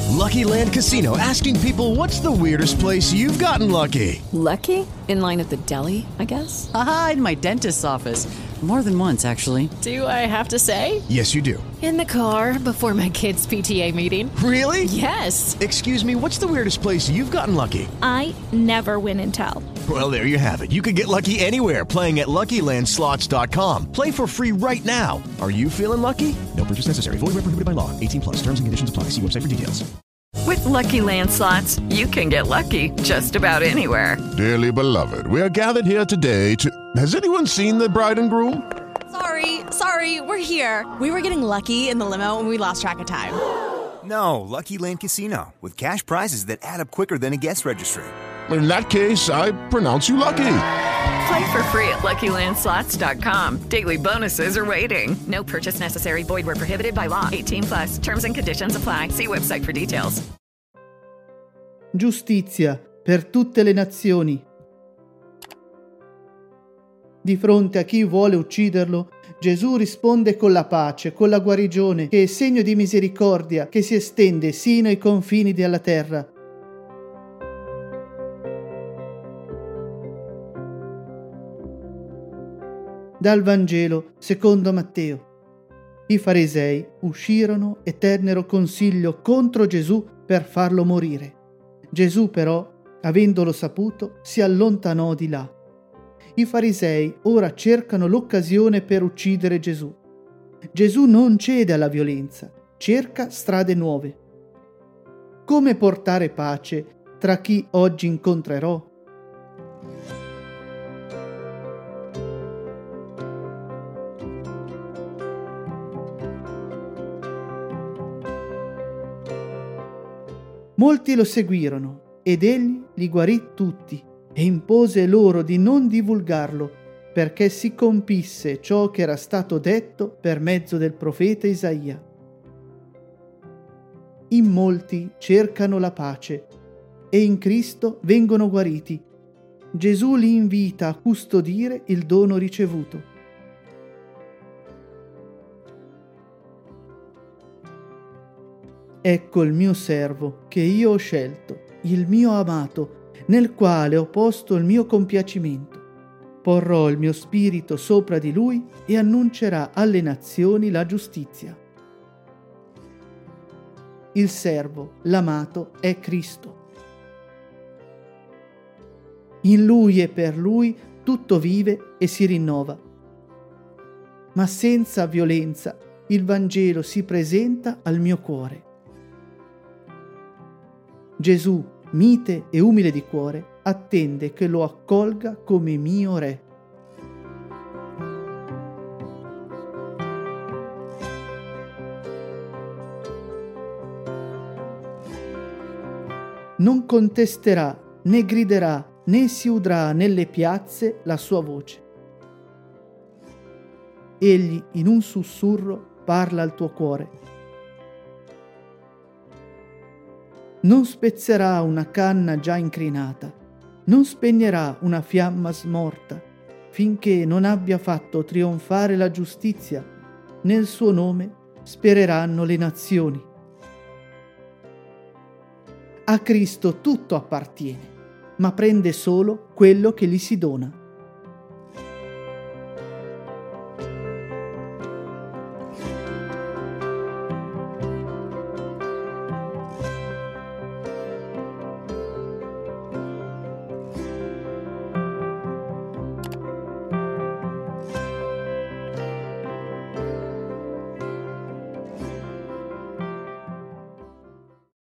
Lucky Land Casino, asking people, what's the weirdest place you've gotten lucky? Lucky? In line at the deli, I guess? Aha, in my dentist's office. More than once, actually. Do I have to say? Yes, you do. In the car before my kids' PTA meeting. Really? Yes. Excuse me, what's the weirdest place you've gotten lucky? I never win and tell. Well, there you have it. You can get lucky anywhere, playing at LuckyLandSlots.com. Play for free right now. Are you feeling lucky? No purchase necessary. Void where prohibited by law. 18 plus. Terms and conditions apply. See website for details. With Lucky Land Slots, you can get lucky just about anywhere. Dearly beloved, we are gathered here today to... Has anyone seen the bride and groom? Sorry, we're here. We were getting lucky in the limo and we lost track of time. No, Lucky Land Casino, with cash prizes that add up quicker than a guest registry. In that case, I pronounce you lucky. Play for free at LuckyLandSlots.com. Daily bonuses are waiting. No purchase necessary. Void where prohibited by law. 18 plus. Terms and conditions apply. See website for details. Giustizia per tutte le nazioni. Di fronte a chi vuole ucciderlo, Gesù risponde con la pace, con la guarigione, che è segno di misericordia che si estende sino ai confini della terra. Dal Vangelo secondo Matteo. I farisei uscirono e tennero consiglio contro Gesù per farlo morire. Gesù però, avendolo saputo, si allontanò di là. I farisei ora cercano l'occasione per uccidere Gesù. Gesù non cede alla violenza, cerca strade nuove. Come portare pace tra chi oggi incontrerò? Molti lo seguirono ed egli li guarì tutti e impose loro di non divulgarlo, perché si compisse ciò che era stato detto per mezzo del profeta Isaia. In molti cercano la pace e in Cristo vengono guariti. Gesù li invita a custodire il dono ricevuto. Ecco il mio servo che io ho scelto, il mio amato, nel quale ho posto il mio compiacimento. Porrò il mio spirito sopra di lui e annuncerà alle nazioni la giustizia. Il servo, l'amato, è Cristo. In lui e per lui tutto vive e si rinnova. Ma senza violenza il Vangelo si presenta al mio cuore. Gesù, mite e umile di cuore, attende che lo accolga come mio Re. Non contesterà, né griderà, né si udrà nelle piazze la sua voce. Egli in un sussurro parla al tuo cuore. Non spezzerà una canna già incrinata, non spegnerà una fiamma smorta, finché non abbia fatto trionfare la giustizia. Nel suo nome spereranno le nazioni. A Cristo tutto appartiene, ma prende solo quello che gli si dona.